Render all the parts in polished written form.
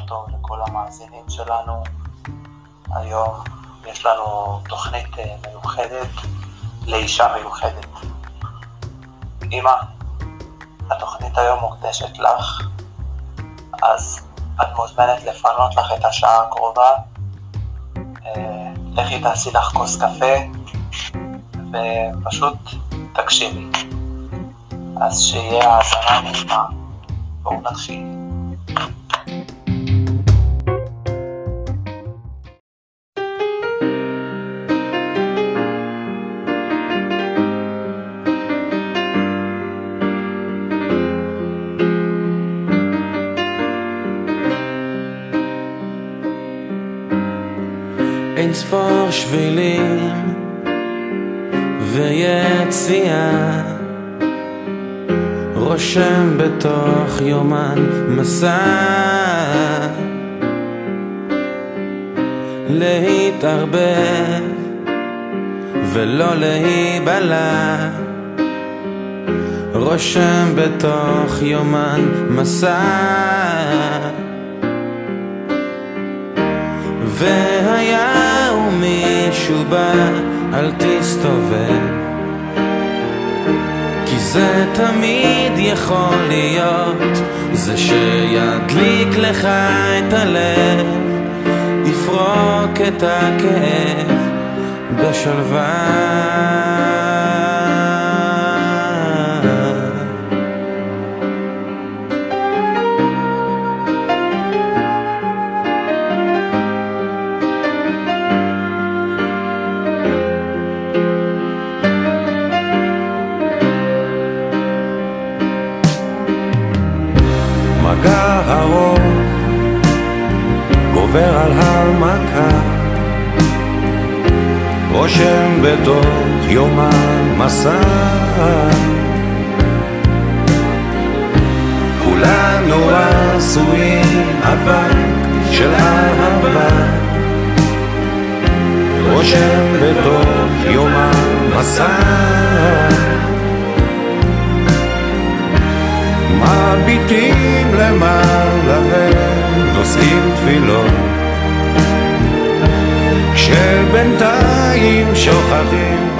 טוב לכל המאזינים שלנו. היום יש לנו תוכנית מיוחדת לאישה מיוחדת. אמא, התוכנית היום מוקדשת לך, אז את מוזמנת לפנות לך את השעה הקרובה. לכי תעשי לך כוס קפה ופשוט תקשיבי. אז שיהיה האזנה נעימה. בואו נתחיל. אין ספור שבילים ויציאה, רושם בתוך יומן מסע, להתערבב ולא להיבלע, רושם בתוך יומן מסע. והיה ומישהו בא, אל תסתובב, כי זה תמיד יכול להיות זה שידליק לך את הלב, יפרוק את הכאב בשלווה. מגע ארוך גובר על המכה, רושם בתוך יומן מסע, כולנו עשויים אבק של אהבה, רושם בתוך יומן מסע. מביטים למעלה ונושאים תפילות, כשבינתיים שוכחים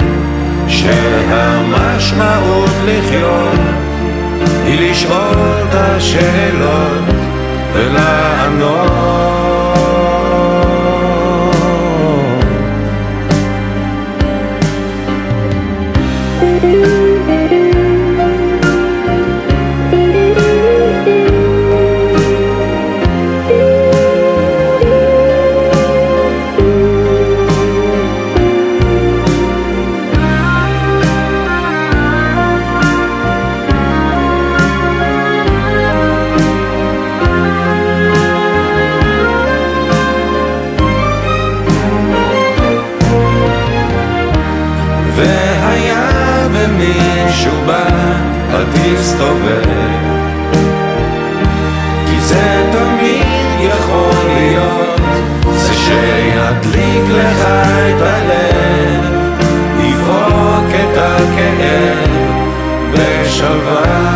שהמשמעות לחיות היא לשאול את השאלות ולענות. והיה ומישהו בא, אל תסתובב, כי זה תמיד יכול להיות זה שידליק לך את הלב, יפרוק את הכאב בשלווה.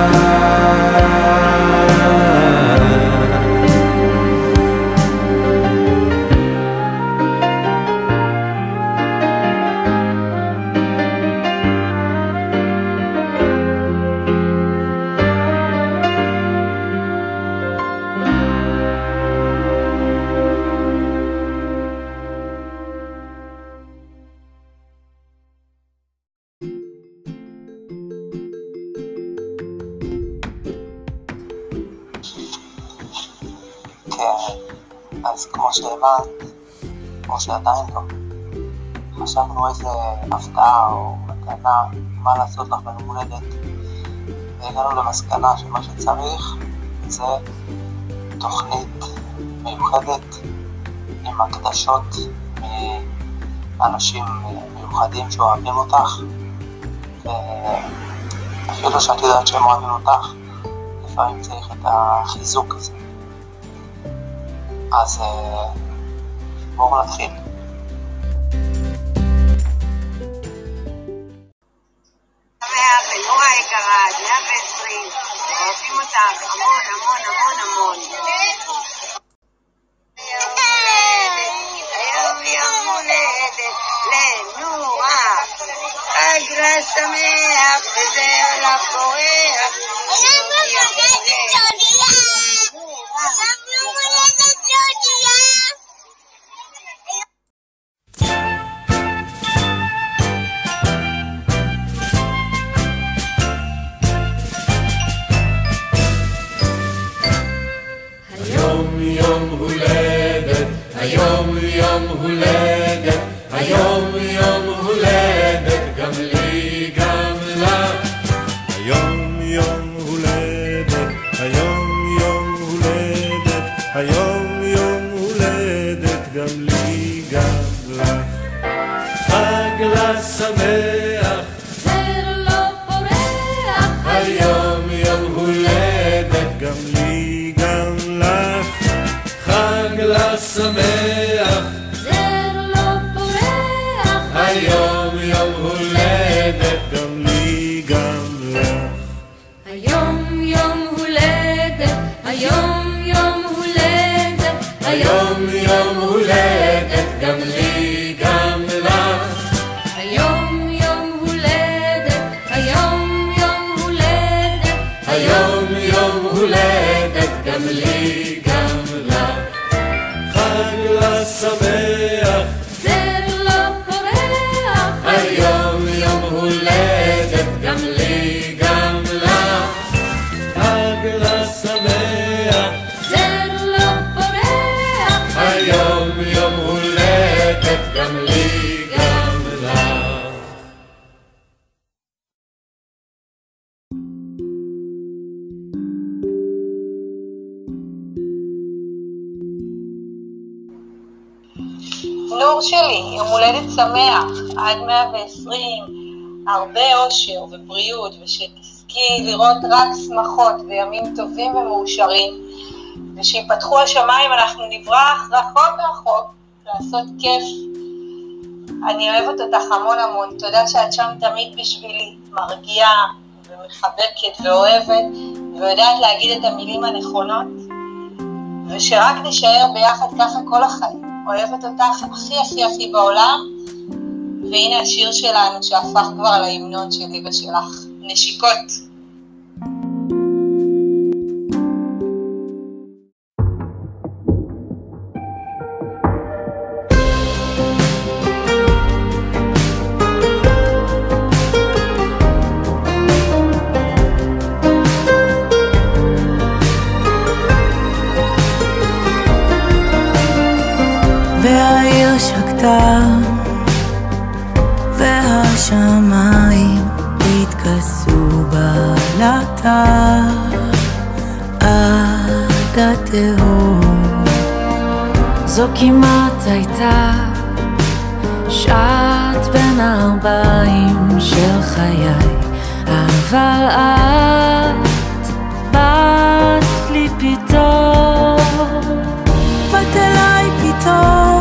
כן, אז כמו שהבנת, או שעדיין לא, חשבנו איזה הפתעה או מתנה, מה לעשות לך ביום הולדת, והגענו למסקנה שמה שצריך זה תוכנית מיוחדת עם הקדשות מאנשים מיוחדים שאוהבים אותך, ואפילו שאת יודעת שהם אוהבים אותך, לפעמים צריך את החיזוק הזה. אז בואו נתחיל. ונורה היקרה, 120, אוהבים אותך המון המון המון המון. לילה שמח וזהו לך פורח. היום יום הולדת, היום יום הולדת, היום יום הולדת, גם לי גם לך. היום יום הולדת, היום יום הולדת, היום יום הולדת, גם לי גם לך. חג לה שמח, זר לא פורח, היום יום הולדת, גם לי גם לך. חג לה שמח, זר לא פורח, היום יום הולדת, גם לי גם לך. היום יום הולדת, היום יום הולדת, היום יום הולדת, גם לי גם לך. היום יום הולדת, היום יום הולדת, היום יום הולדת, גם לי גם לך. חג לה שמח, זר לא פורח, היום יום הולדת, גם לי גם לך. חג לה שמח, זר לא פורח, היום יום הולדת, גם לי גם לך. נור שלי, יום הולדת שמח, עד 120, הרבה אושר ובריאות, ושתזכי לראות רק שמחות וימים טובים ומאושרים, ושיפתחו השמיים, אנחנו נברח רחוק רחוק, לעשות כיף. אני אוהבת אותך המון המון, תודה שאת שם תמיד בשבילי, מרגיעה ומחבקת ואוהבת, ויודעת להגיד את המילים הנכונות, ושרק נשאר ביחד ככה כל החיים. אוהבת אותך הכי הכי הכי בעולם, והנה השיר שלנו שהפך כבר להמנון שלי ושלך, נשיקות. והעיר שקטה והשמיים התכסו בלטה עד התהום. זו כמעט הייתה שעת בין הארבעים של חיי, אבל את באת לי פתאום, באת אליי פתאום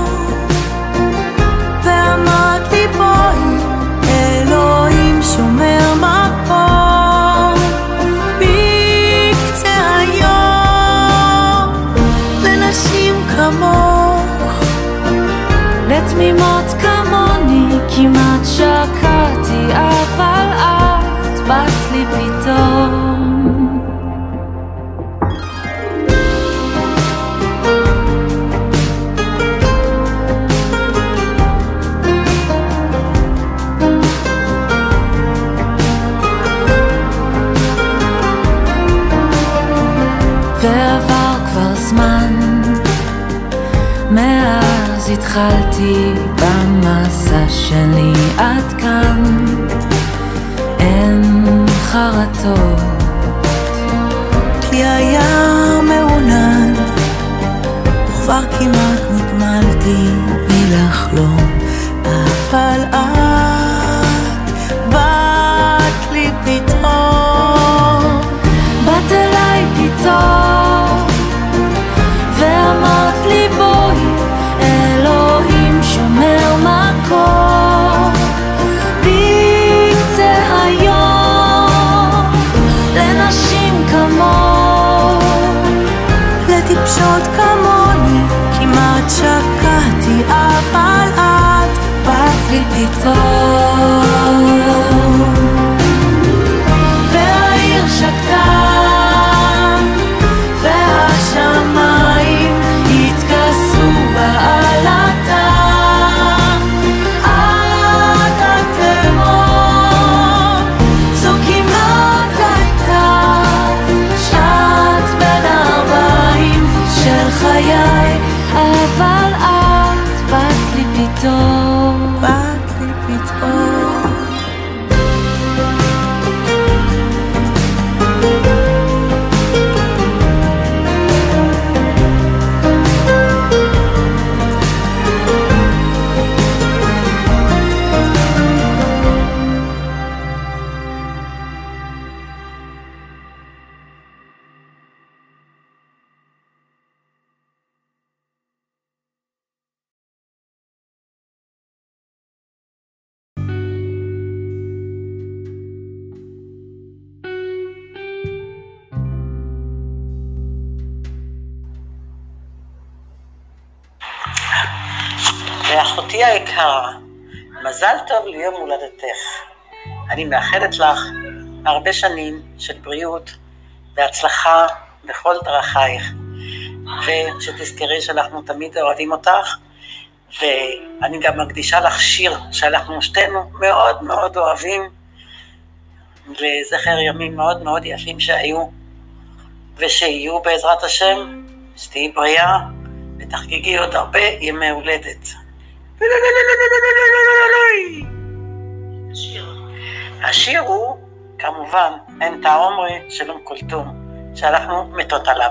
ואמרת לי בואי, אלוהים שומר מקום בקצה היום לנשים כמוך, לתמימות כמוני כמעט שקעתי, אבל את באת לי פתאום. ועבר כבר זמן מאז התחלתי במסע שלי עד כאן, אין חרטות כי היה מעונן וכבר כמעט נגמלתי מלחלום, אבל את באת לי פתאום, באת אליי פתאום ואמרת לי בואי, אלוהים שומר מקום בקצה היום לנשים כמוך, לטיפשות כמוני כמעט שקעתי, אבל את באת לי פתאום. אחותי היקרה, מזל טוב ליום הולדתך. אני מאחלת לך הרבה שנים של בריאות והצלחה בכל דרכייך, ושתזכרי שאנחנו תמיד אוהבים אותך, ואני גם מקדישה לך שיר שאנחנו שתינו מאוד מאוד אוהבים, לזכר ימים מאוד מאוד יפים שהיו ושיהיו בעזרת השם. שתהי בריאה ותחגגי עוד הרבה ימי הולדת. השיר הוא כמובן אין תעומרי של אום כולתום, שאנחנו מתות עליו.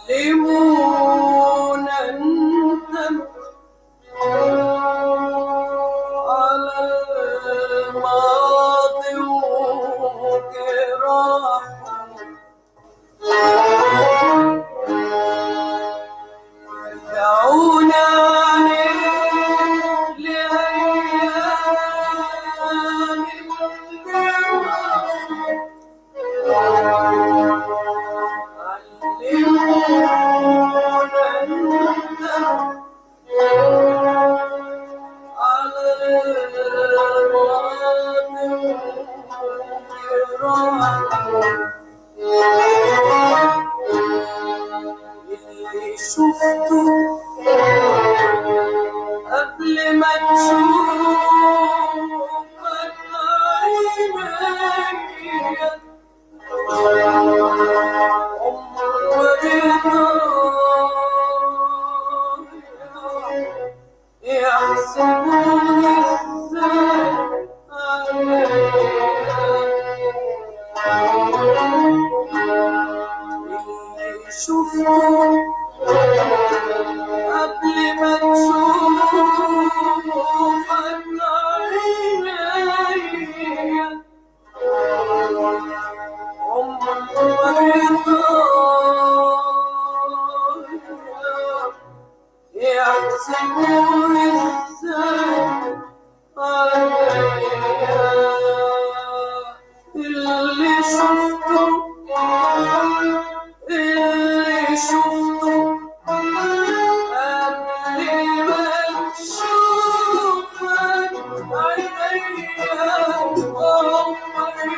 علمونا ندم على الماضي وجراحه رجعونا لأيام اللي شفته قبل ما تشوفك عينيا عمري يحسبوني ازاي اللي شفته قبل ما تشوفك عينيا عمري يحسبوني ازاي عليا اللي شفته قبل ما تشوفك عينيا عمري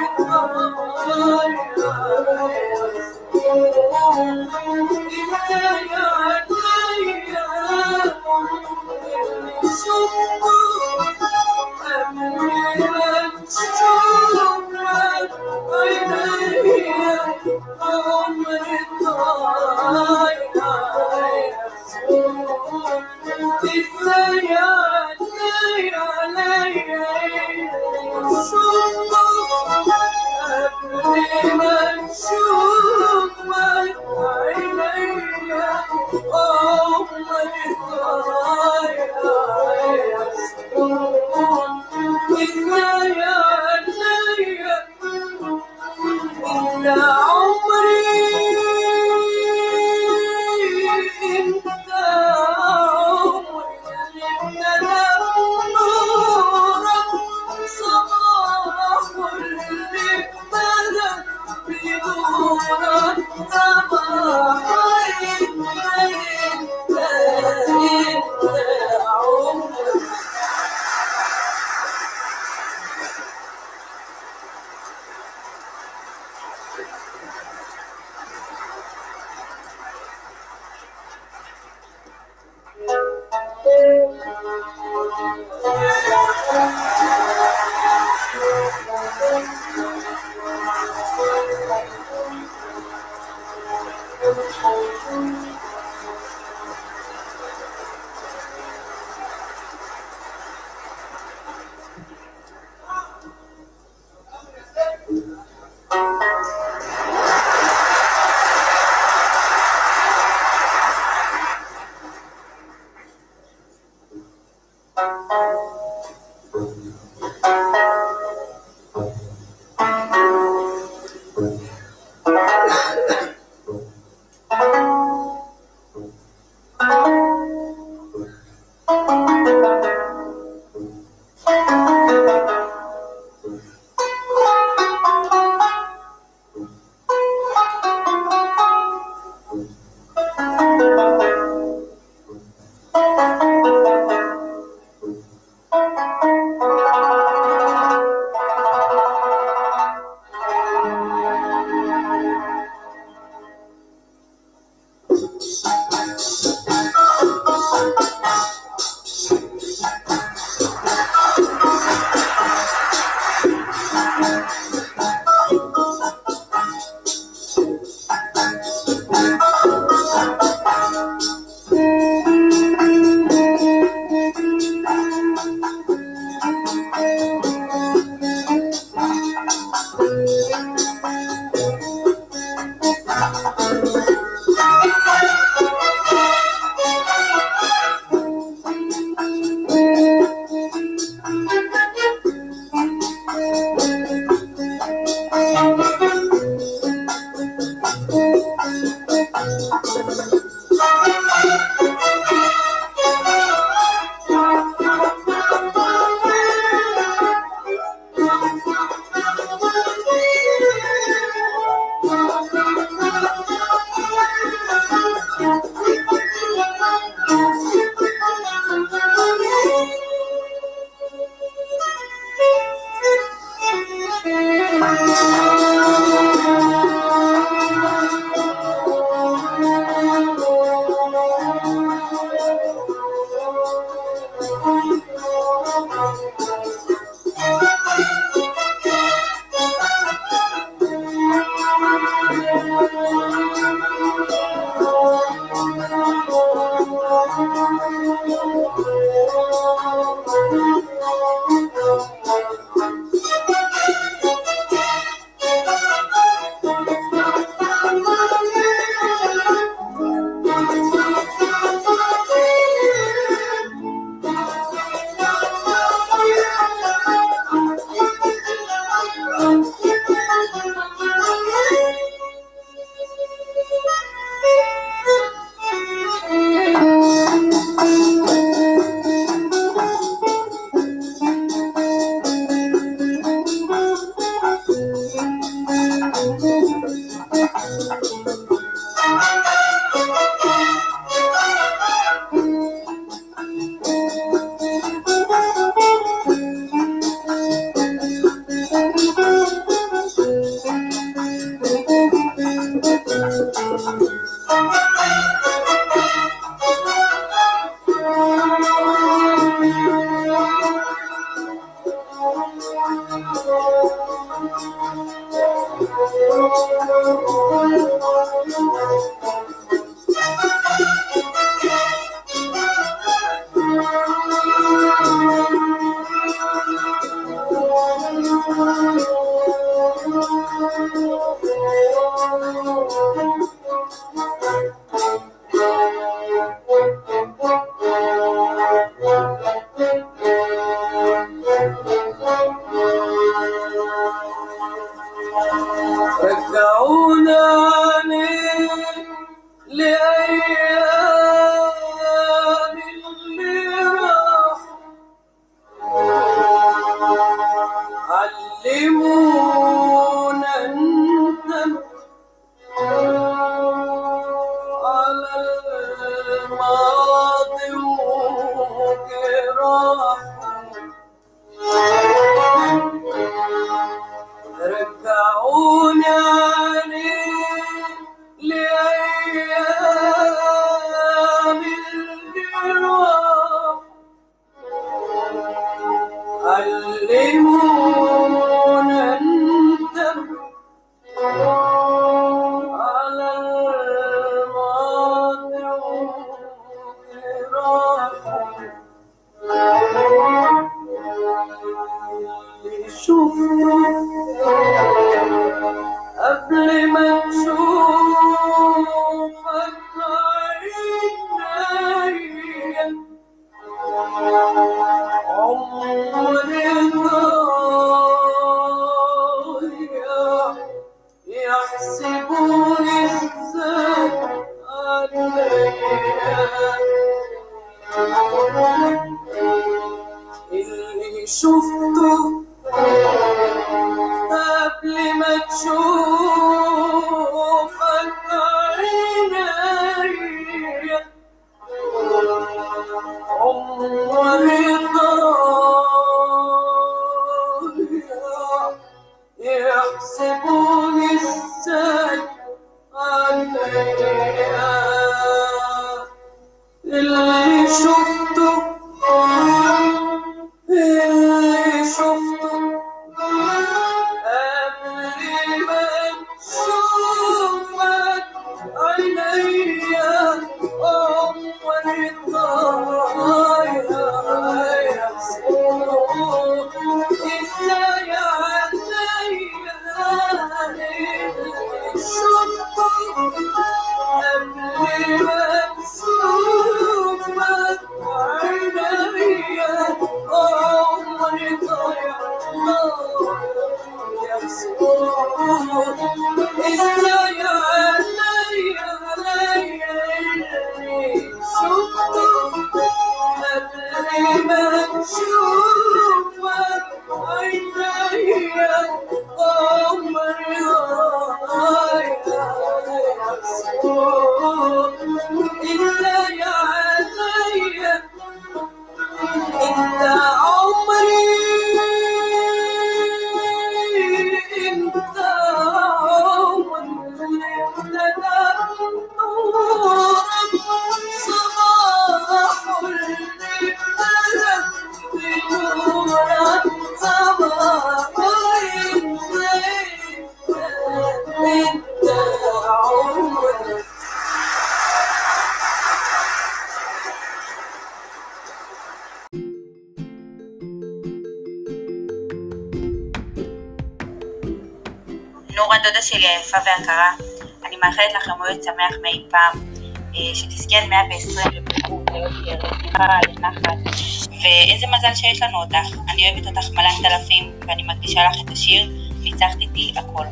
הדודה שלי היפה והיקרה, אני מאחלת לך יום הולדת שמח מאי פעם, שתזכי עד 120 לבריאות, לשמחה, לנחת, ואיזה מזל שיש לנו אותך. אני אוהבת אותך מלאת אלפים, ואני מקדישה לך את השיר ניצחת איתי הכל.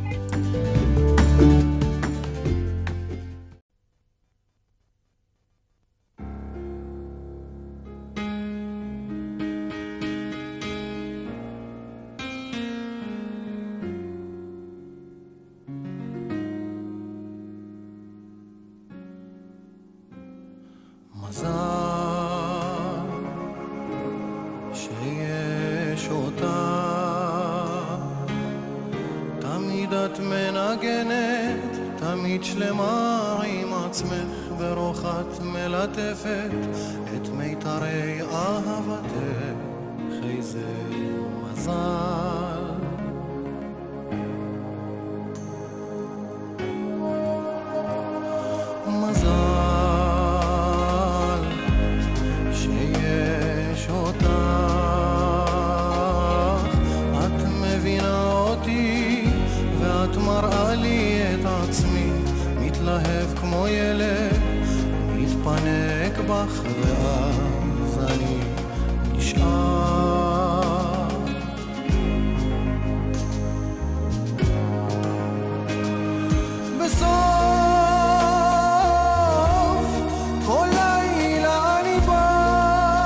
מזל שיש אותה, תמיד את מנגנת, תמיד שלמה עם עצמך, ברוך את מלטפת את מיתרי אהבתך, איזה מזל. מתלהב כמו ילד, מתפנק בך ואז אני נשאר. בסוף כל לילה אני בא,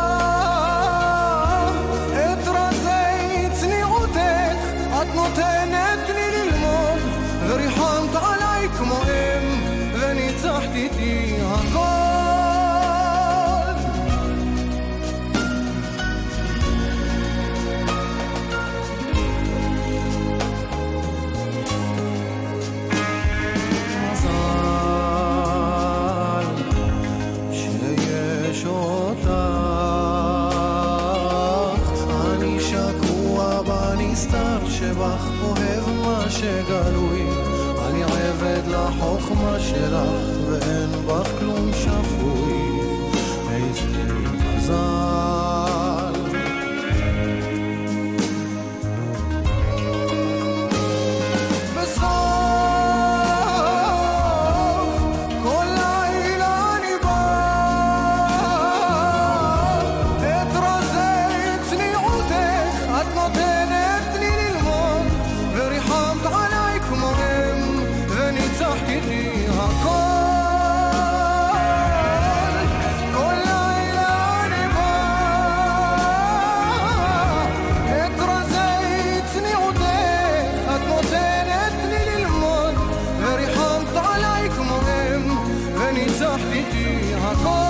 את רזי צניעותך את נותנת לי ללמוד, וריחמת עליי כמו וניצחת איתי הכל. מזל שיש אותך, אני שקוע בנסתר שבך, אוהב מה שגלוי, אני עבד לחוכמה שלך ואין בך כלום שפוי, איזה מזל. בסוף כל לילה אני בא, את רזי צניעותך את נותנת לי ללמוד, וריחמת עליי כמו וניצחת איתי הכל. כל לילה אני בא, את רזי צניעותך את נותנת לי ללמוד, וריחמת עליי כמו וניצחת איתי הכל.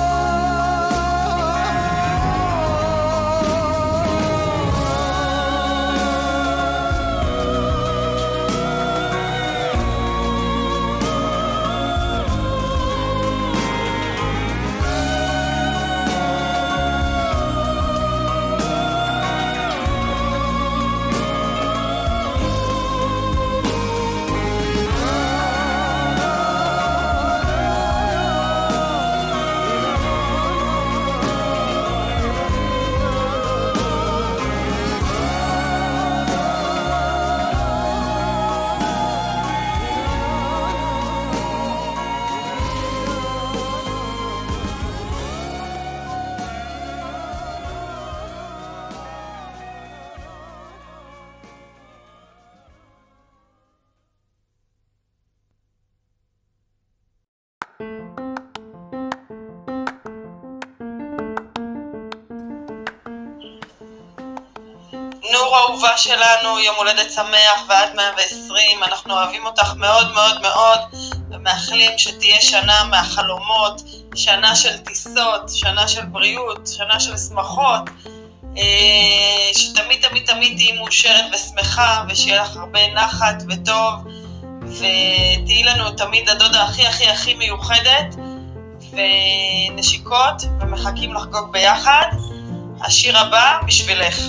נור אהובה שלנו, יום הולדת שמח ועד 120, אנחנו אוהבים אותך מאוד מאוד מאוד ומאחלים שתהיה שנה מהחלומות, שנה של טיסות, שנה של בריאות, שנה של שמחות, שתמיד תמיד תמיד תהיי מאושרת ושמחה ושיהיה לך הרבה נחת וטוב, ותהיי לנו תמיד הדודה הכי הכי הכי מיוחדת ונשיקות ומחכים לחגוג ביחד. השיר הבא בשבילך.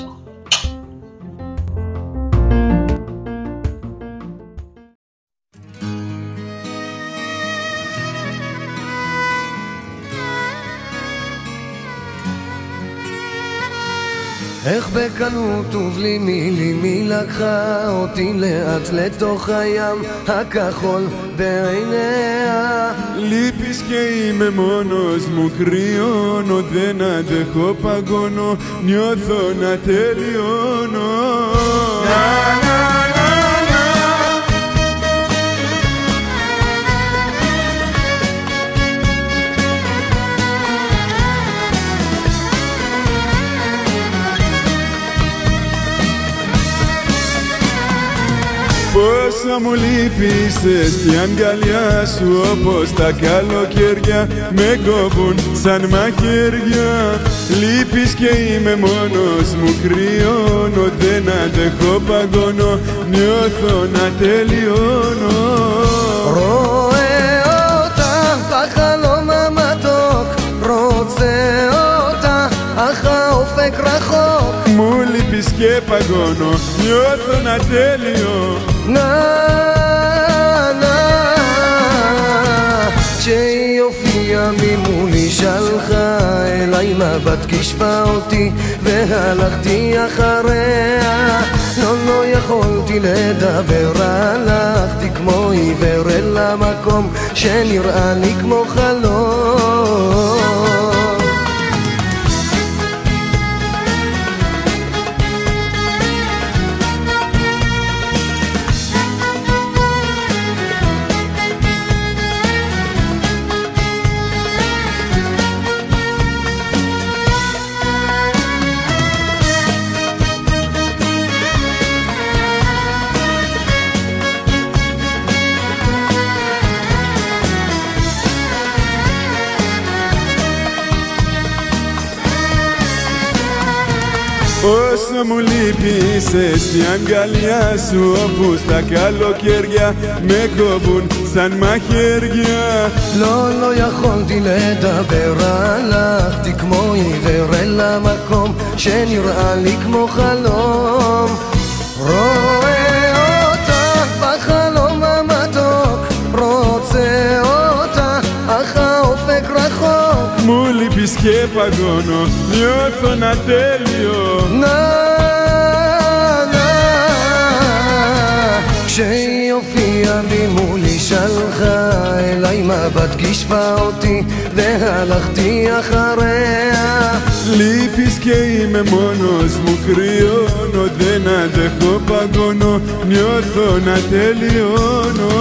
איך בקלות ובלי מילים היא לקחה אותי לאט לתוך הים הכחול בעיניה. Li piskei με μόνος μου κρυώνω, δεν αντέχω παγώνω, νιώθω να τελειώνω. Πόσα μου λείπησες στη αγκαλιά σου, όπως τα καλοκαίρια με κόβουν σαν μαχαίρια. Λείπεις και είμαι μόνος μου κρυώνω, δεν αντέχω παγώνω, νιώθω να τελειώνω. רואה אותה בחלום המתוק, רוצה אותה אך האופק רחוק. Μου λείπεις και παγώνω, νιώθω να τέλειο. כשהיא הופיעה ממולי שלחה אליי מבט, כשפה אותי והלכתי אחריה. לא יכולתי לדבר, הלכתי כמו עיוור אל המקום שנראה לי כמו חלום. Όσο μου λείπησες στη αγκαλιά σου, όπου στα καλοκαίρια με κόβουν σαν μαχαίρια. לא יכולתי לדבר, הלכתי כמו עיוור אל המקום שנראה לי כמו חלום. רואה אותה בחלום המתוק, רוצה אותה אך האופק רחוק. Μου λείπεις και παγώνω, νιώθω να τέλειο. כשהיא הופיעה ממולי שלחה אליי מבט, כשפה אותי והלכתי אחריה. Λείπεις και είμαι μόνος μου κρυώνω, δεν αντέχω παγώνω, νιώθω να τελειώνω.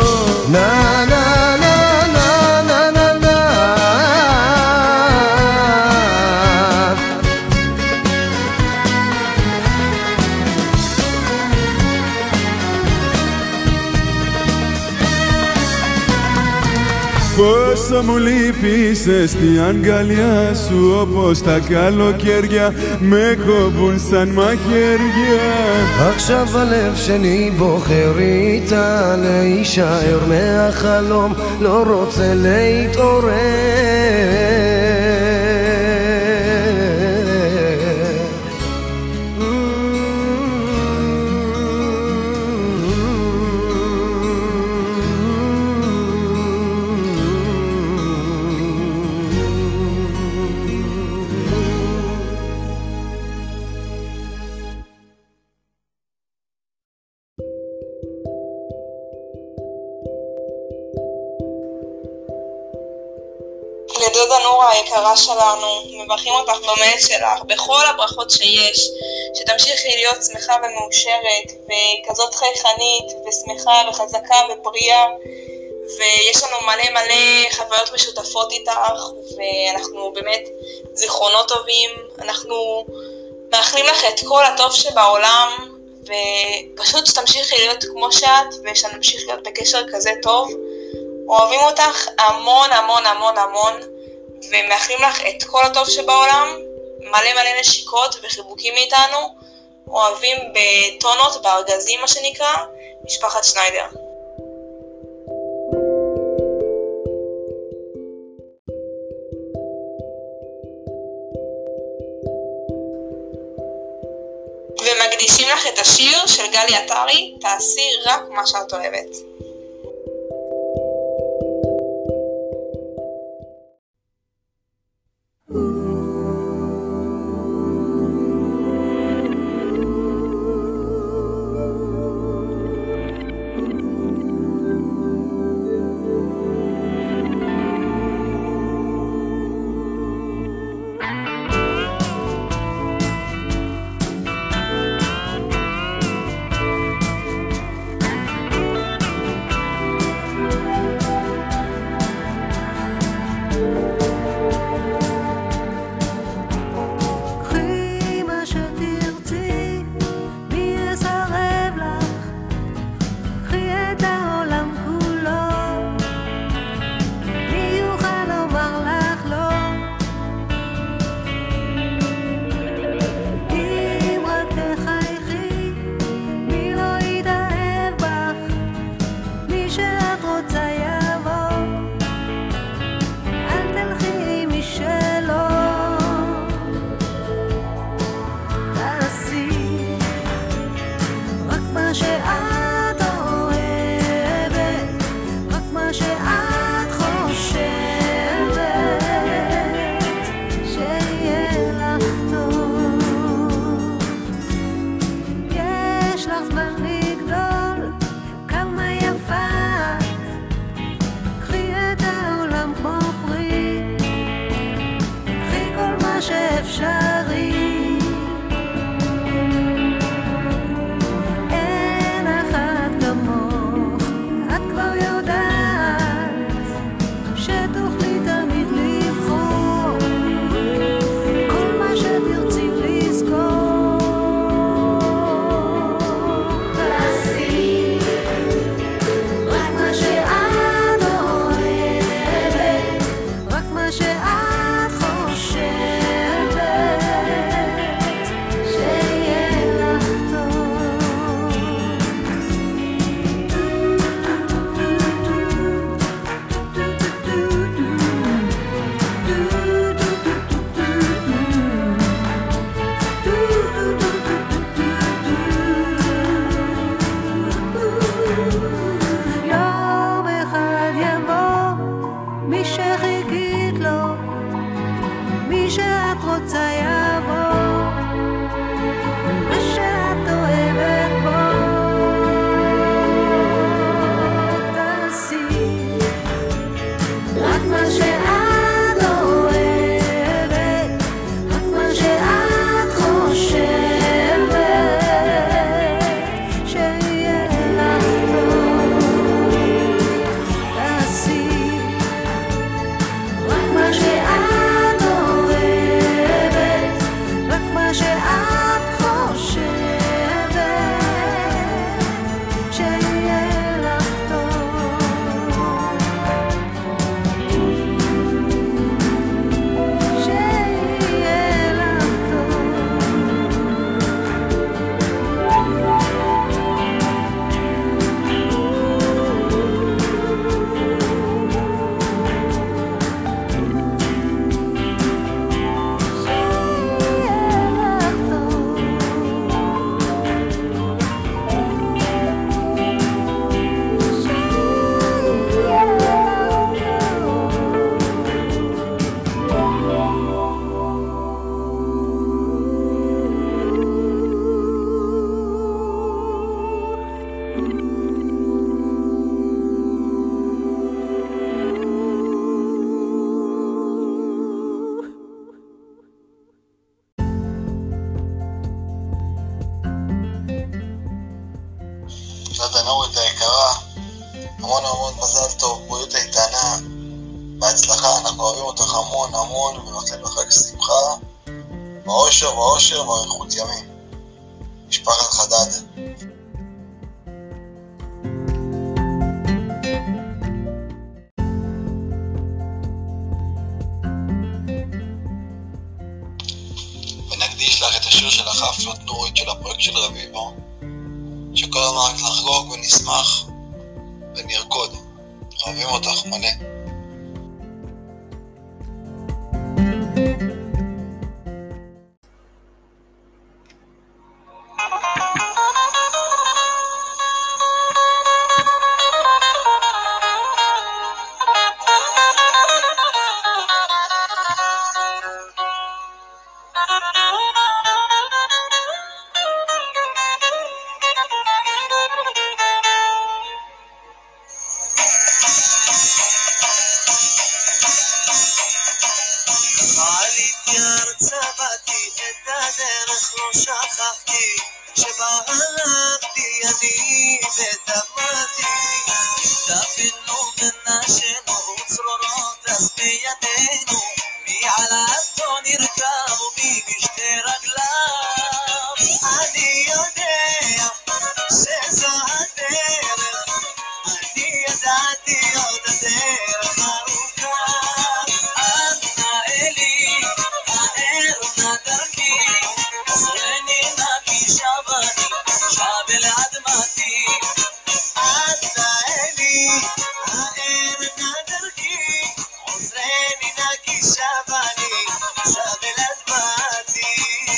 Πόσο μου λείπησες στη αγκαλιά σου, όπως τα καλοκαίρια με κόβουν σαν μαχαίρια. עכשיו הלב שלי בוחר איתה להישאר מהחלום, לא רוצה להתעורר. לדודה נורה היקרה שלנו, מברכים אותך במעט שלך, בכל הברכות שיש, שתמשיכי להיות שמחה ומאושרת, וכזאת חייכנית ושמחה וחזקה ובריאה, ויש לנו מלא מלא חוויות משותפות איתך, ואנחנו באמת זיכרונות טובים, אנחנו מאחלים לך את כל הטוב שבעולם, ופשוט שתמשיכי להיות כמו שאת, ושנמשיך להיות בקשר כזה טוב. אוהבים אותך המון המון המון המון, ומאחלים לך את כל הטוב שבעולם, מלא מלא נשיקות וחיבוקים מאיתנו, אוהבים בטונות, בארגזים מה שנקרא, משפחת שניידר. ומקדישים לך את השיר של גלי עטרי, תעשי רק מה שאת אוהבת. מי שאת רוצה יבוא, מה שאת אוהבת בו תעשי, רק מה שאת אוהבת, רק מה שאת חושבת שיהיה לך טוב תעשי, רק מה שאת אוהבת, רק מה שאת חושבת שיהיה לך טוב שיהיה לך נורית היקרה, המון המון מזל טוב, בריאות איתנה, בהצלחה, אנחנו אוהבים אותך המון המון ומאחלים לך חג שמחה, באושר ואושר ואריכות ימים. משפחת חדד. ונקדיש לך את השיר של החפלות נורית של הפרויקט של רביבו, שכל הזמן רק נחגוג ונשמח ונרקוד. אוהבים אותך מלא. עליתי ארצה באתי את הדרך לא שכחתי שבה הלכתי אני ודמעתי דפינו ונשנו צרורות אז בידינו מי עלתו נרכב ומי משתי רגליו אני יודע שזו הדרך אני ידעתי עוד הדרך ארוכה شابل عدماتي عدنا إلي عائر نادركي عزريني ناكي شاباني شابل عدماتي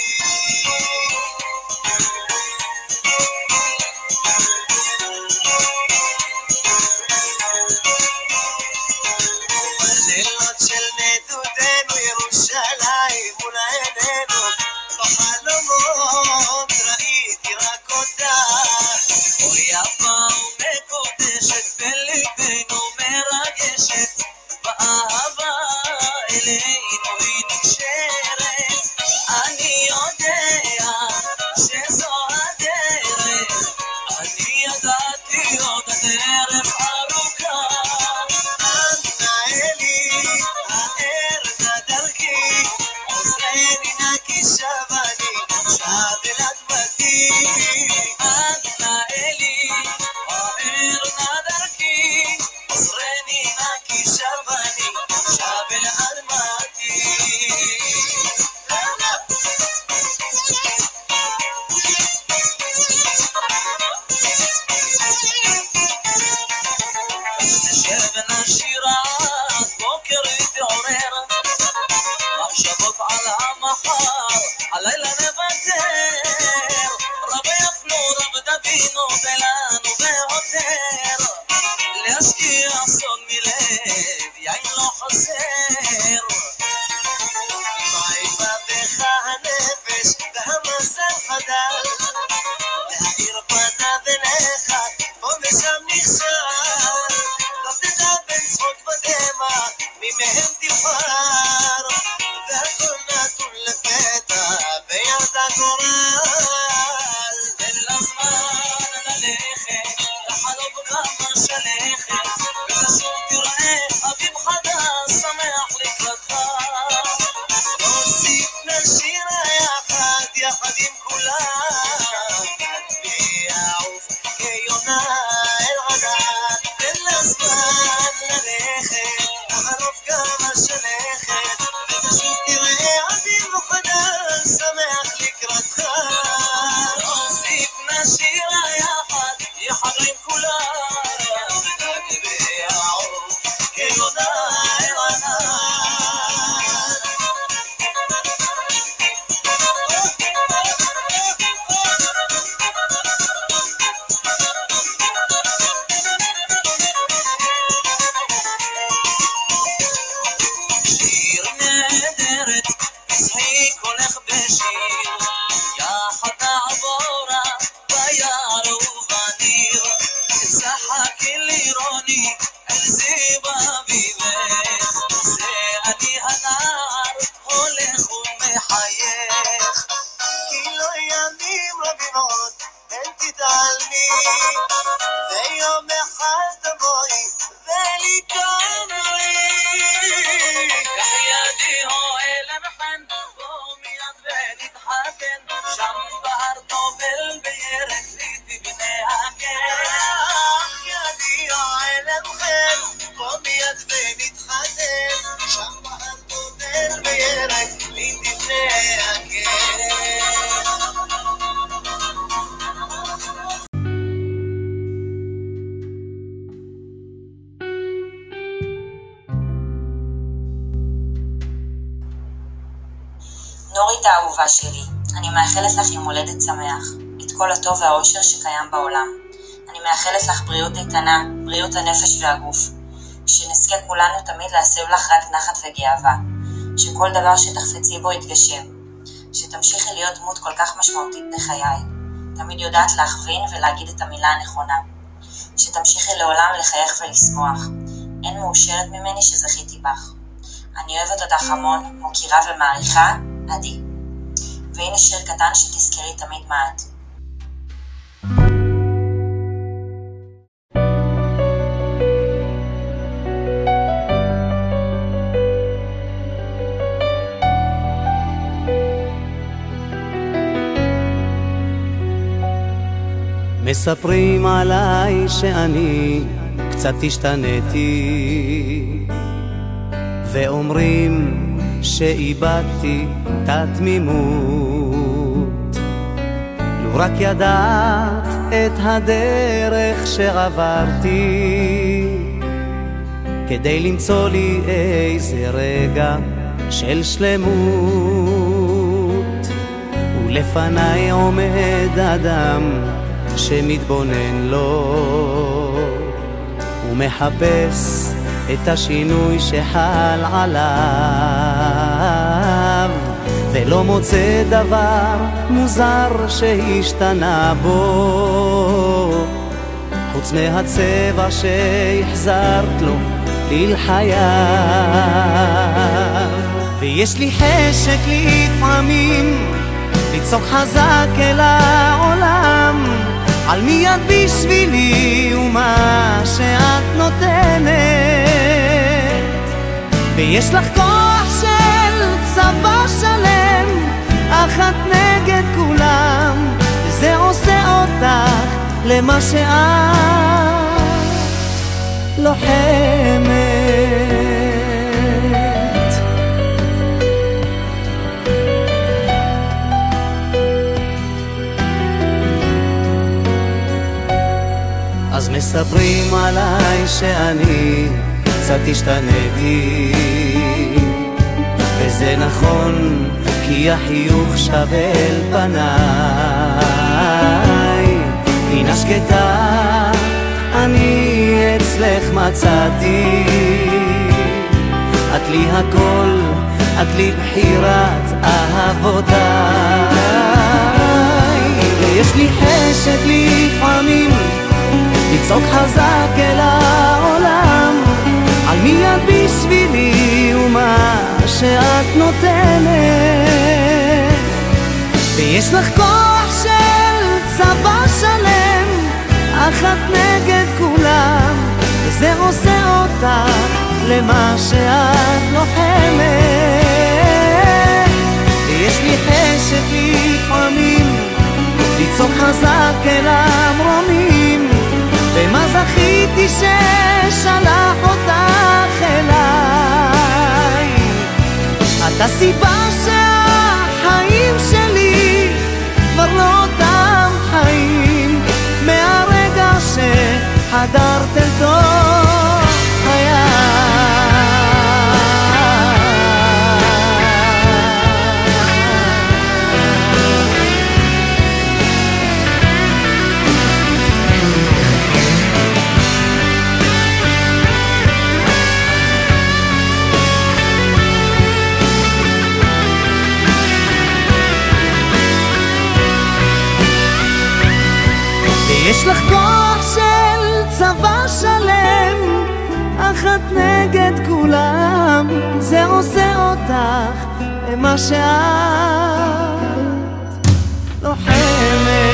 الليلات شلنا دودين ويروشلايم ولعينينو בחלומות ראיתי רק אותה אוי יפה ומקודשת בליבנו מרגשת באהבה אלינו היא נקשרת אני יודע שזו הדרך אני ידעתי עוד הדרך ארוכה אנאלי הער נדרכי עוזרני נקי שבני شابل عدمتي أدنى إلي وعير نادركي عصريني ناكي شابني شابل عدمتي شابنا شيرات بكر يتعرر محشبط على محار علينا نبتر ربي يفلو رب دبينو بلانو بهوتر ليشكي أصون مليب يعين لو خسر מי מהם תבחר, והכל נתון לפתע ביד הגורל. תן לזמן ללכת, לחלוב גם השלכת, ותשוב תראה אביב חדש שמח לקראתך. נוסיף נשיר יחד, יחד עם כולם, ויעוף כיונה אל ענן. תן לזמן ללכת, לחלוף גם השלכת, ותשוב תראה אביב חדש שמח לקראתך. נוסיף נשיר יחד, יחד עם כולם, ויעוף כיונה אל ענן. שיר נהדרת, תשחי קולך בשיר, יחד נעבורה ביער ובניר, תשחקי לירוני אל זיו אביבך, זה אני הנער הולך ומחייך. כי לא ימים רבים עוד פן תתעלמי, ויום אחד תבואי ולי תאמרי. קח ידי אוהל המחן, בוא מיד ונתחתן, שם בהר טובל בירק לי תבנה הגן. קח ידי אוהל המחן, בוא מיד ונתחתן, שם בהר טובל בירק לי תבנה הגן. נורית האהובה שלי, אני מאחלת לך יום הולדת שמח, את כל הטוב והאושר שקיים בעולם. אני מאחלת לך בריאות איתנה, בריאות הנפש והגוף, שנזכה כולנו תמיד להסב לך רק נחת וגאווה, שכל דבר שתחפצי בו יתגשם, שתמשיכי להיות דמות כל כך משמעותית בחיי, תמיד יודעת להכווין ולהגיד את המילה הנכונה, שתמשיכי לעולם לחייך ולשמוח, אין מאושרת ממני שזכיתי בך. אני אוהבת אותך המון, מוקירה ומעריכה, עדי. והנה שיר קטן שתזכרי תמיד מה את. מספרים עליי שאני קצת השתניתי, ואומרים שאיבדתי את התמימות. לו רק ידעת את הדרך שעברתי, כדי למצוא לי איזה רגע של שלמות. ולפניי עומד אדם שמתבונן לו ומחפש את השינוי שחל עליו, ולא מוצא דבר מוזר שהשתנה בו, חוץ מהצבע שהחזרת לו לחייו. ויש לי חשק לפעמים לצעוק חזק אל העולם, על מי את בשבילי ומה שאת נותנת, ויש לך כוח של צבא שלם, אחת נגד כולם, וזה עושה אותך למה שאת לוחמת. אז מספרים עליי שאני קצת השתניתי, וזה נכון כי החיוך שווה אל פניי. הנה שקטה אני אצלך מצאתי, את לי הכל, את לי בחירת אהבותיי. ויש לי חשק לפעמים לצעוק חזק אל העולם, על מי את בשבילי ומה שאת נותנת, ויש לך כוח של צבא שלם, אחת נגד כולם, וזה עושה אותך למה שאת לוחמת. ויש לי חשק לפעמים ליצור חזק אל המרומים, ומה זכיתי ששלח אותך אליי. את הסיבה שהחיים שלי כבר לא אותם חיים, מהרגע שחדרת אל תוך חיי. יש לך כוח של צבא שלם, אחת נגד כולם, זה עושה אותך למה שאת לוחמת.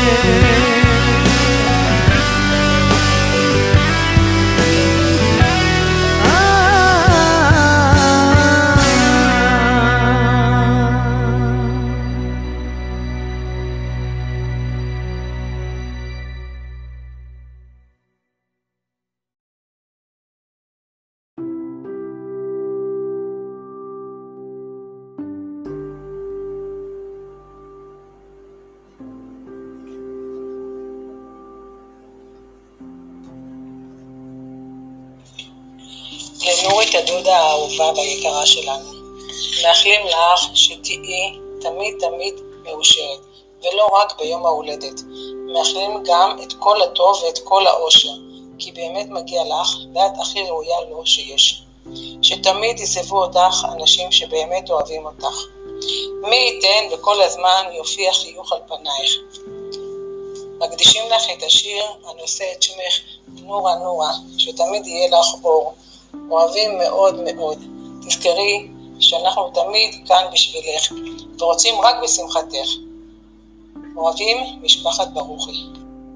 לנורית הדודה האהובה והיקרה שלנו, מאחלים לך שתהיי תמיד תמיד מאושרת, ולא רק ביום ההולדת. מאחלים גם את כל הטוב ואת כל האושר, כי באמת מגיע לך, ואת הכי ראויה לו שיש. שתמיד יסבו אותך אנשים שבאמת אוהבים אותך. מי ייתן וכל הזמן יופיע חיוך על פנייך. מקדישים לך את השיר הנושא את שמך נורה נורה, שתמיד יהיה לך אור. אוהבים מאוד מאוד. תזכרי שאנחנו תמיד כאן בשבילך, ורוצים רק בשמחתך. אוהבים, משפחת ברוכי.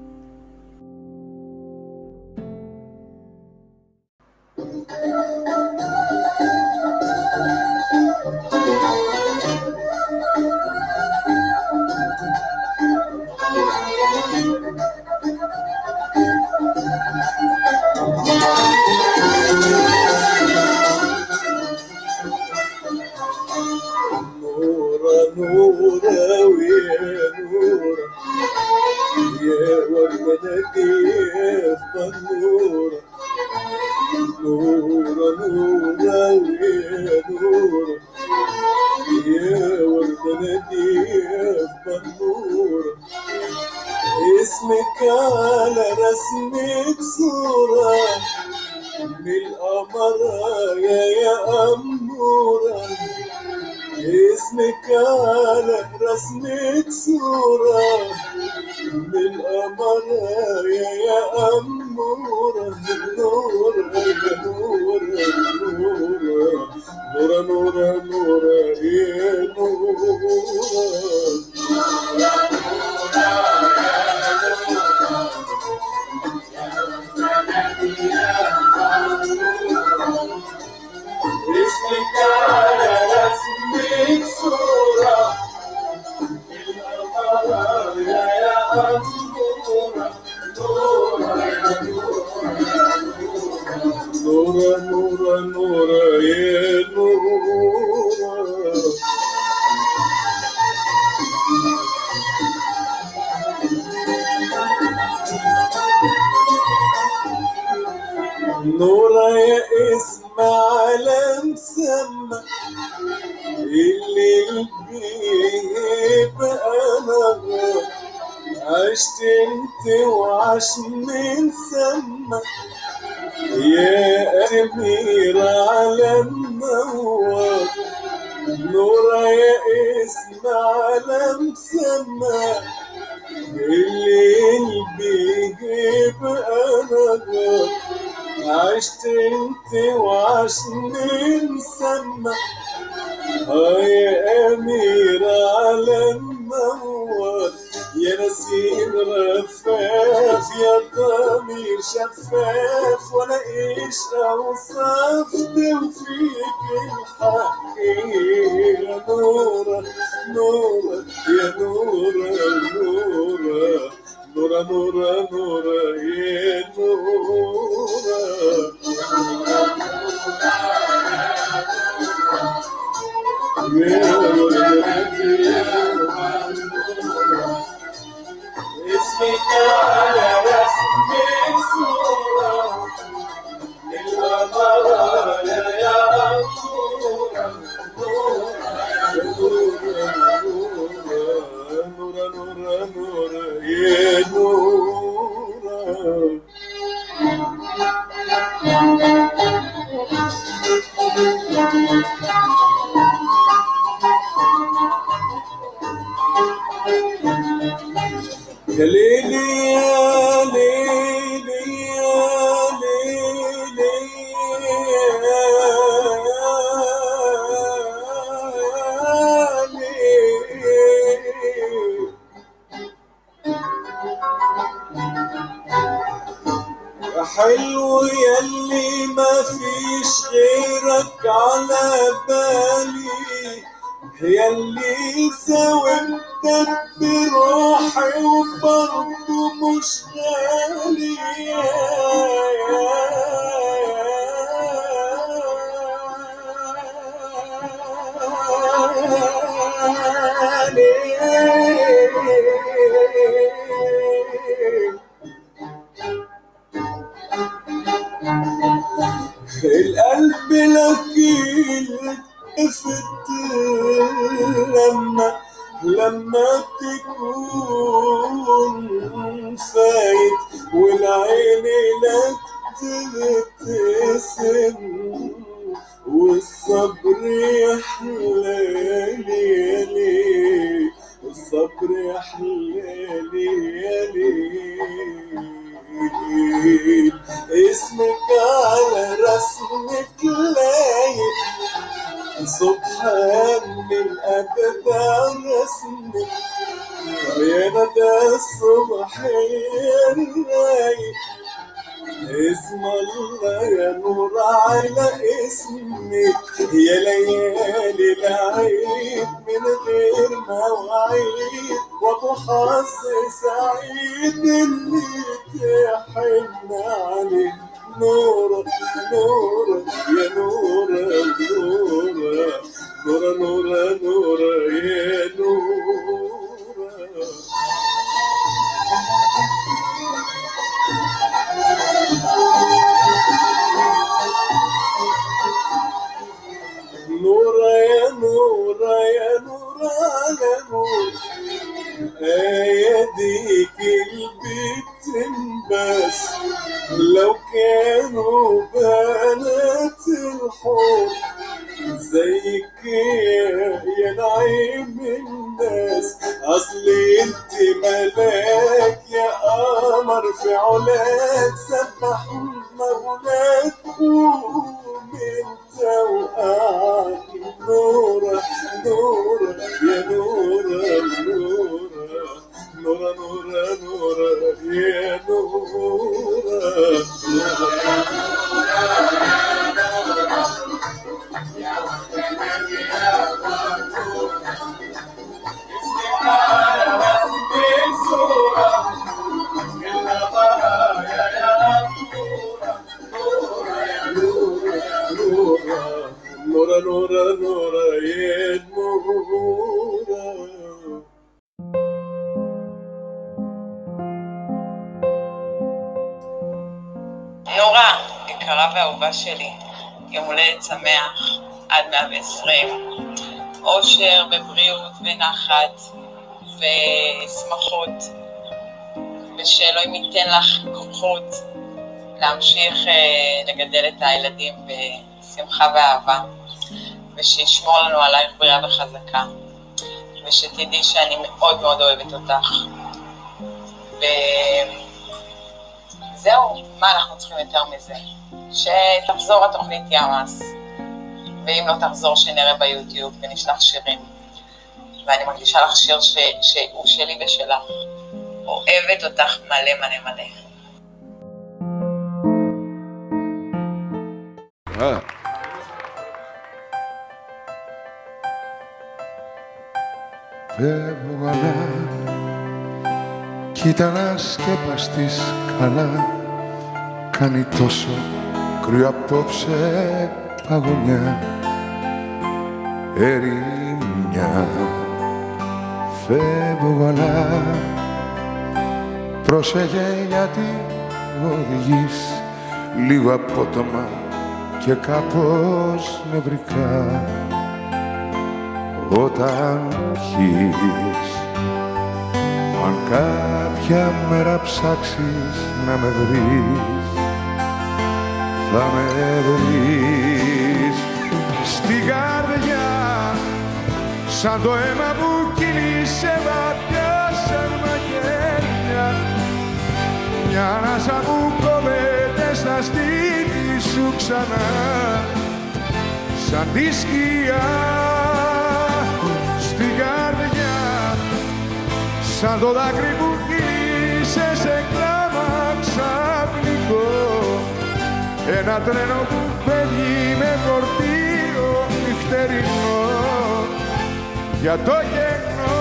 اسمك على رسمك صورة من القمر يا أمورة. اسمك على رسمك صورة من القمر يا أمورة. نورة يا نورة نورة نورة نورة يا نورة. اسمك على رسمك صورة بالقمر يا أمورة. نورة نورة نورة يا نورة. نورة يا اسم على مسمى اللي بيبقى أنا عشت انت وعاش من سما يا أميرة على النوار. نورة يا اسم على مسمى اللي بيبقى أنا عشت انت وعشني نسمع يا أميرة على النوار يا نسيم رفاف يا ضمير شفاف ولا ايش اوصف توفيق الحق يا نورة نورة يا نورة نورة نورة نورة نورة يا نورة اسمك على رسمك صورة للغمارة يا نورة نورة نورة نورة يا نورة يا ليلي يا ليلي يا ليلي يا حلو ياللي ما فيش غيرك على بالي ياللي زودتك بروحي وبرضه مش غالي القلب لك يلتفت لما تكون فايت والعين لك تبتسم والصبر يحلالي يالي والصبر يحلالي يالي اسمك على رسمك لايق سبحان الأبدع رسمك يا ندى الصبح الرايق اسم الله يا نور على اسمك يا ليالي العيد من غير مواعيد وابو حظ سعيد اللي تحن عليه نورة نورة يا نورة نورة نورة نورة نورة يا نورة نورة يا نورة يا نورة على نور ديك البيت بس لو كانوا بنات الحور زيك يا نعيم الناس اصلي انت ملاك يا قمر في علاك سبح مولاك قوم انت وقعك نورة نورة يا نورة نورة نورة نورة نورة يا نورة نورة نورة نورة يا نورة נורה, יקרה ואהובה שלי, יום הולדת שמח עד 120, אושר ובריאות ונחת ושמחות, ושאלוהים ייתן לך כוחות להמשיך לגדל את הילדים בשמחה ואהבה, ושישמור לנו עלייך בריאה וחזקה, ושתדעי שאני מאוד מאוד אוהבת אותך, זהו, מה אנחנו צריכים יותר מזה? שתחזור התוכנית ימאס, ואם לא תחזור שנראה ביוטיוב ונשלח שירים. ואני מרגישה לך שיר שהוא שלי ושלך. אוהבת אותך מלא מלא מלא. Φεύγω κοίτα να σκεπαστείς καλά. Κάνει τόσο κρύο απόψε παγωνιά, ερημιά. Φεύγω αλλά πρόσεχε γιατί οδηγείς λίγο απότομα και κάπως νευρικά. Όταν πιείς, αν κάποια μέρα ψάξεις να με βρεις, θα με βρεις στην καρδιά, σαν το αίμα που κυλήσε βαθιά σαν μαχαίρια, μια ανάσα που κόβεται στα στήθη σου ξανά, σαν τη σκιά. Στην καρδιά, σαν το δάκρυ που κύλησε σε κλάμα ξαφνικό, ένα τρένο που φεύγει με φορτίο νυχτερινό για το κενό.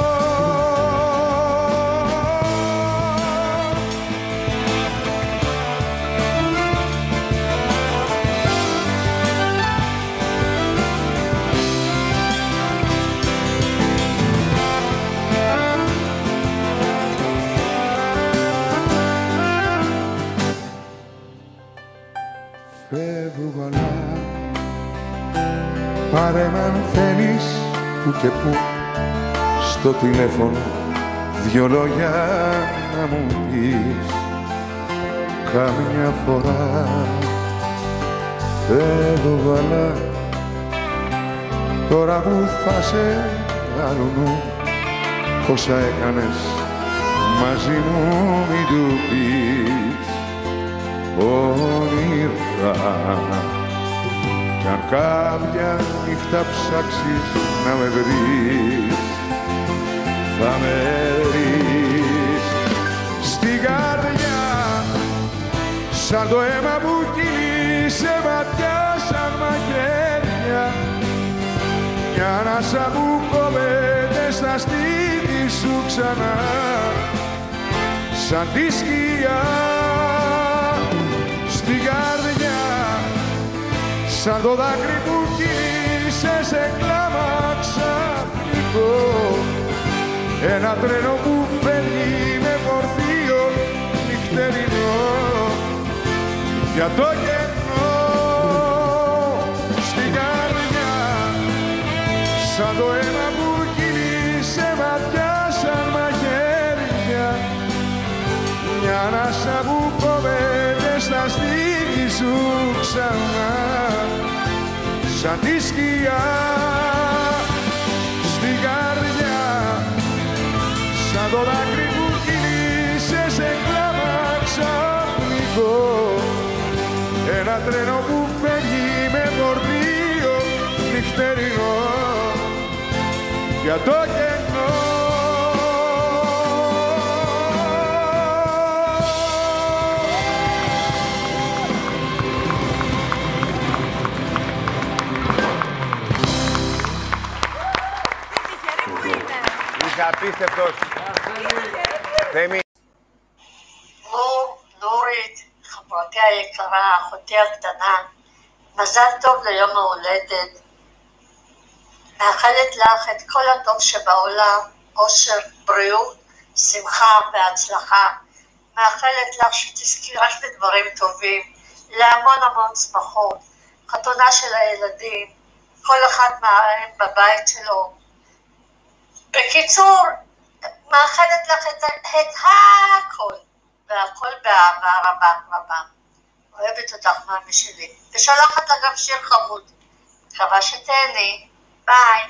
Φεύγω αλλά πάρε μ' αν θέλεις που και που στο τηλέφωνο δυο λόγια να μου πεις καμιά φορά. Φεύγω αλλά τώρα που θα σε άλλου νου όσα έκανες μαζί μου μην του πεις όνειρα. Κι αν κάποια νύχτα ψάξεις να με βρεις, θα με βρεις στην καρδιά, σαν το αίμα που κύλησε βαθιά σαν μαχαίρια, μια ανάσα που κόβεται στα στήθη σου ξανά, σαν τη σκιά. Στην καρδιά, σαν το δάκρυ που κύλησε σε κλάμα ξαφνικό, ένα τρένο που φεύγει με φορτίο νυχτερινό για το κενό. Στην καρδιά, σαν το αίμα που κύλησε βαθιά σαν μαχαίρια, μια ανάσα που κόβεται στα στήθη σου ξανά, σαν τη σκιά. Στην καρδιά, σαν το δάκρυ που κύλησε σε κλάμα ξαφνικό, ένα τρένο που φεύγει με φορτίο νυχτερινό για το κενό. Απίστευτος. Θέμη. נורית, חברתי היקרה, אחותי הקטנה, מזל טוב ליום ההולדת. מאחלת לך את כל הטוב שבעולם, אושר, בריאות, שמחה והצלחה. מאחלת לך שתזכי רק לדברים טובים, להמון המון שמחות, חתונה של הילדים, כל אחד מהם בבית שלו. בקיצור, מאחלת לך את הכל, והכל באהבה רבה רבה. אוהבת אותך מאמי שלי, ושולחת לה גם שיר חמוד. מקווה שתהני, ביי.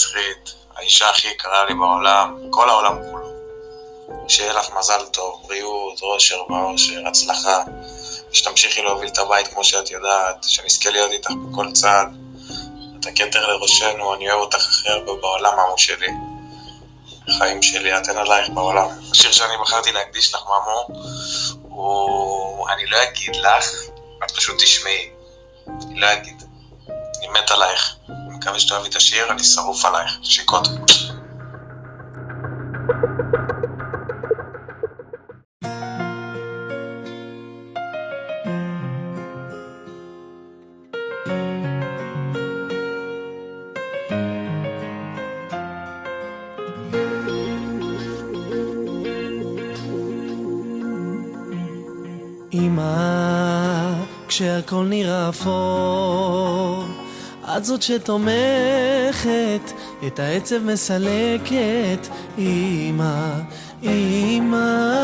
נצחית, האישה הכי יקרה לי בעולם, כל העולם כולו. שיהיה לך מזל טוב, בריאות, אושר ואושר, הצלחה, שתמשיכי להוביל את הבית כמו שאת יודעת, שנזכה להיות איתך בכל צעד. את הכתר לראשנו, אני אוהב אותך הכי הרבה בעולם, אמו שלי. חיים שלי, את אין עלייך בעולם. השיר שאני בחרתי להקדיש לך, ממו, אני לא אגיד לך, את פשוט תשמעי. אני לא אגיד. אני מת עלייך. אני מקווה שתאהבי את השיר, אני שרוף עלייך. שיקות. אמא, כשהכל נראה אפור, את זאת שתומכת, את העצב מסלקת. אמא, אמא,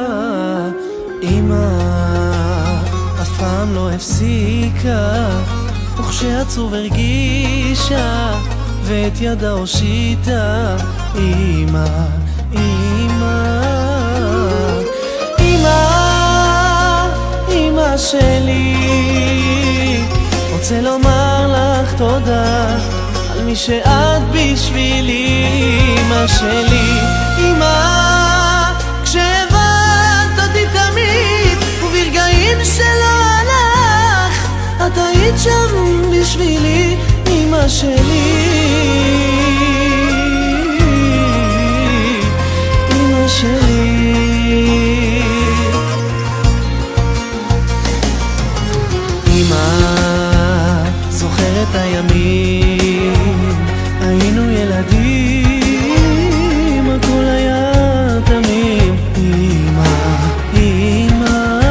אמא, אף פעם לא הפסיקה, וכשעצוב הרגישה, ואת ידה הושיטה. אמא, אמא, אמא, אמא שלי, רוצה לומר לך תודה על מי שאת בשבילי. אמא שלי, אמא, כשהבנת אותי תמיד, וברגעים שלא הלך, את היית שם בשבילי. אמא שלי, אמא שלי, זוכר את הימים, היינו ילדים, הכל היה תמים. אמא, אמא,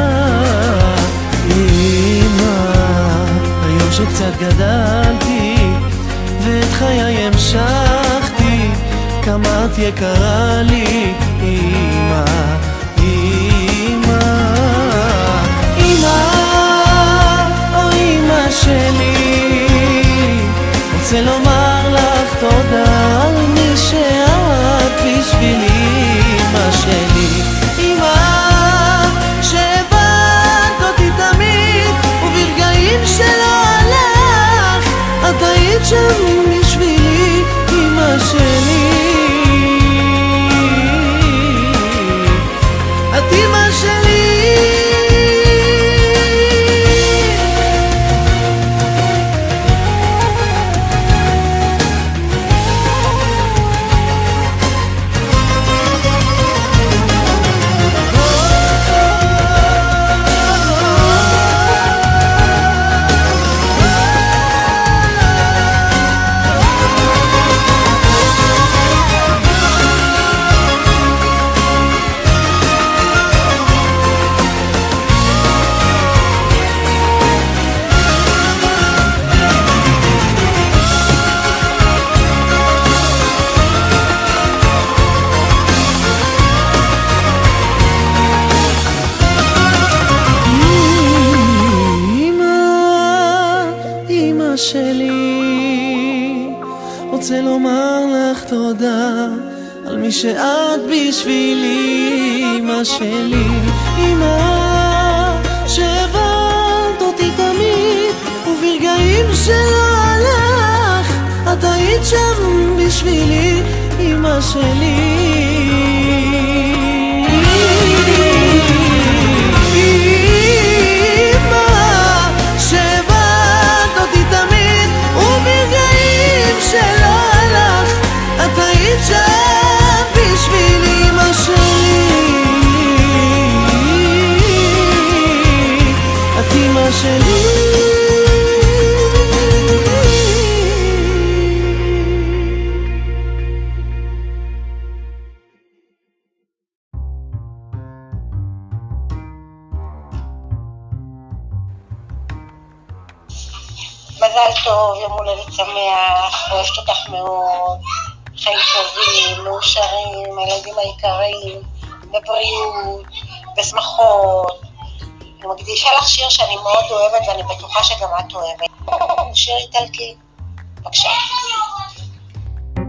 אמא, היום שקצת גדלתי ואת חיי המשכתי, כמה את יקרה לי. אמא, אמא, אמא שלי, רוצה לומר לך תודה על מי שאת בשבילי. אמא שלי, אמא, שהבנת אותי תמיד, וברגעים שלא הלך, את היית שם בשבילי. אמא שלי, את אמא שלי. רוצה לומר לך תודה על מי שאת בשבילי. אמא שלי, אמא, שהבנת אותי תמיד, וברגעים שלא הלך, את היית שם בשבילי. אמא שלי, מזל טוב, יום הולדת שמח, אוהבת אותך מאוד, חיים טובים, מאושרים, הילדים היקרים, בבריאות, בשמחות. אני מקדישה לך שיר שאני מאוד אוהבת ואני בטוחה שגם את אוהבת. שיר איטלקי, בבקשה.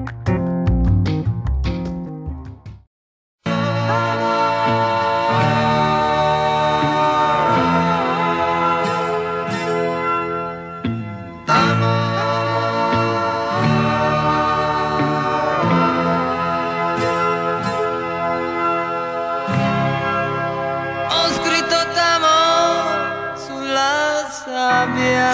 sabbia,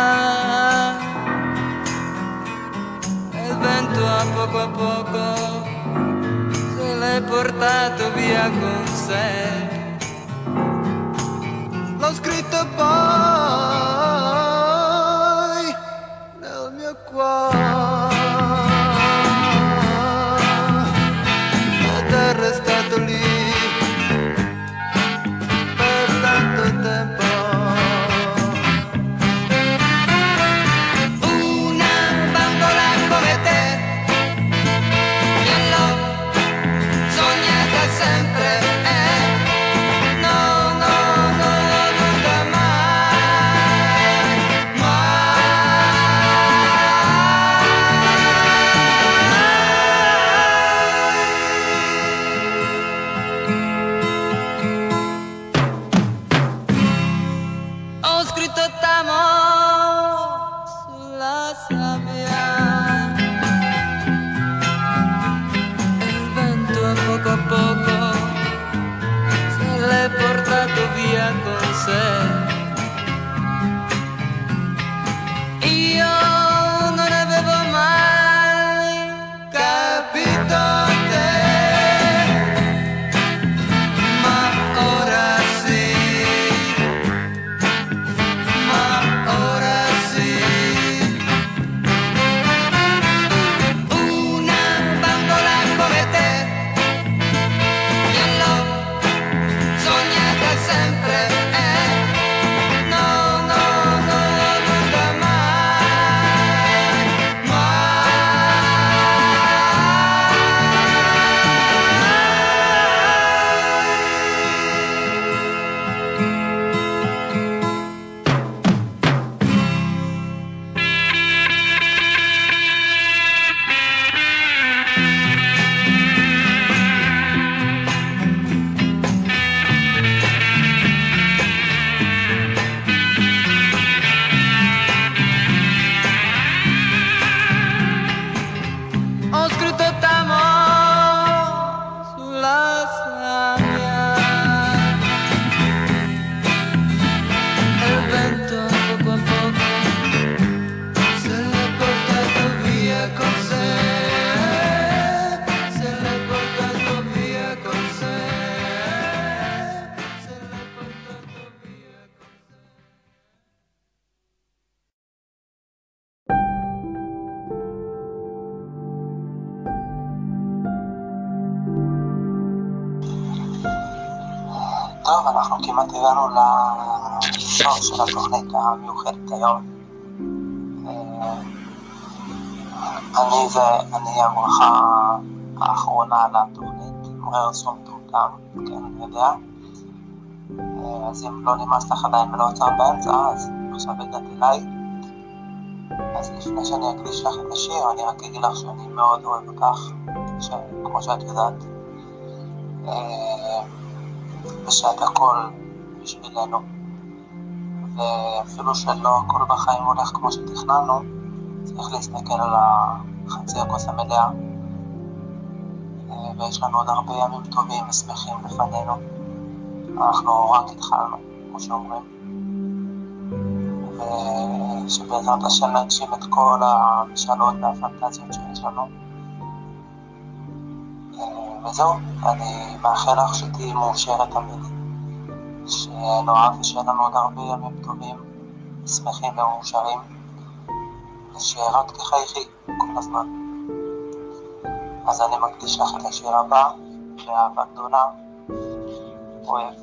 e il vento a poco se l'è portato via con sé. L'ho scritto poi nel mio cuore, ed è restato lì per tanto tempo. Una bambola come te, io l'ho sognata sempre. Io non avevo mai capito te, ma ora sì, ma ora sì. Una bambola come te, io l'ho sognata sempre. טוב, אנחנו כמעט הגענו לסוף של התוכנית המיוחדת היום. אני הברכה האחרונה לתוכנית, מרר סום טומטם, כן, אני יודע. אז אם לא נמאס לך עדיין ולא עצר באמצע, אז עכשיו הגעת אליי. אז לפני שאני אקדיש לך את השיר, אני רק אגיד לך שאני מאוד אוהב אותך, כמו שאת יודעת. ושאת הכל בשבילנו, ואפילו שלא הכל בחיים הולך כמו שתכננו, צריך להסתכל על החצי הכוס המלאה, ויש לנו עוד הרבה ימים טובים ושמחים לפנינו. אנחנו רק התחלנו, כמו שאומרים, ושבעזרת השם נגשים את כל המשאלות והפנטזיות שיש לנו. וזהו, אני מאחל לך שתהיי מאושרת תמיד, שנאהב ושיהיה לנו עוד הרבה ימים טובים, שמחים ומאושרים, ושרק תחייכי כל הזמן. אז אני מקדיש לך את השיר הבא, באהבה גדולה, אוהב.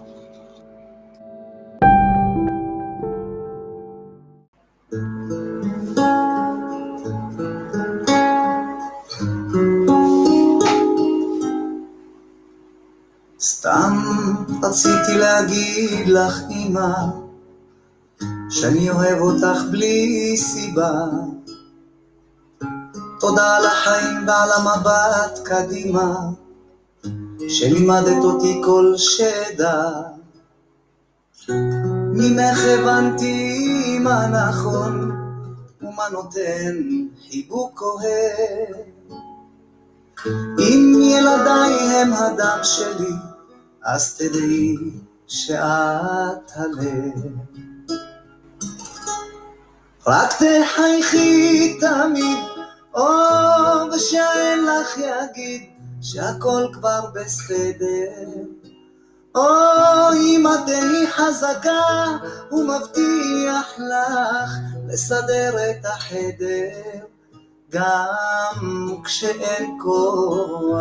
סתם רציתי להגיד לך אמא שאני אוהב אותך בלי סיבה. תודה על החיים ועל המבט קדימה שלימדת אותי כל שדע. ממך הבנתי מה נכון ומה נותן חיבוק אוהב. אם ילדיי הם הדם שלי אז תדעי שאת הלב. רק תחייכי תמיד, ושאין לך יגיד שהכל כבר בסדר. אמא תהי חזקה, הוא מבטיח לך לסדר את החדר גם כשאין כוח.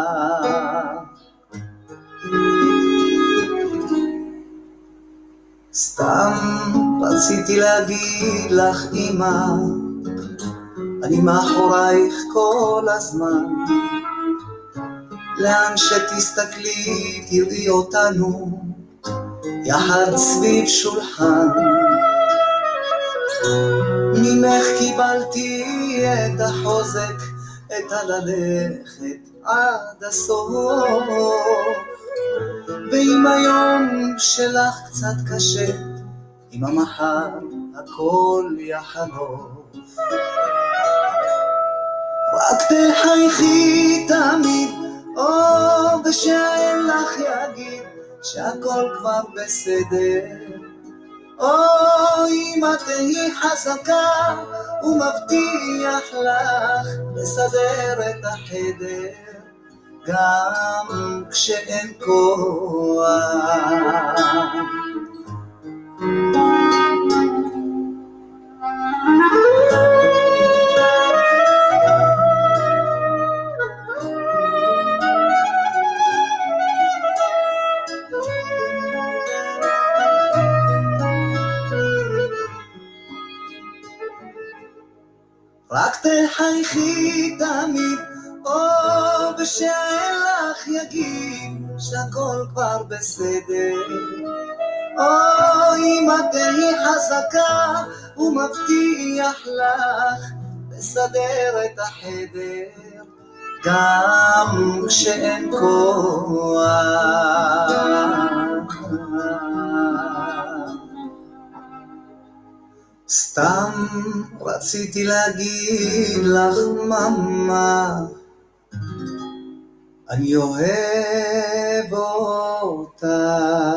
סתם רציתי להגיד לך אמא, אני מאחורייך כל הזמן, לאן שתסתכלי תראי אותנו יחד סביב שולחן. ממך קיבלתי את החוזק, את הללכת עד הסוף, ואם היום שלך קצת קשה, אם המחר הכל יחלוף, רק תחייכי תמיד, ושאין לך יגיד שהכל כבר בסדר. אמא תהי חזקה, הוא מבטיח לך לסדר את החדר גם כשאין כוח. רק תחייכי תמיד, ושאין לך יגיד שהכל כבר בסדר. אמא תהי חזקה, הוא מבטיח לך לסדר את החדר גם כשאין כוח. סתם רציתי להגיד לך ממא, אני אוהב אותך.